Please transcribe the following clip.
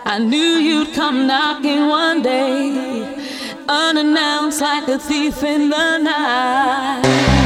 I knew you'd come knocking one day, unannounced like a thief in the night.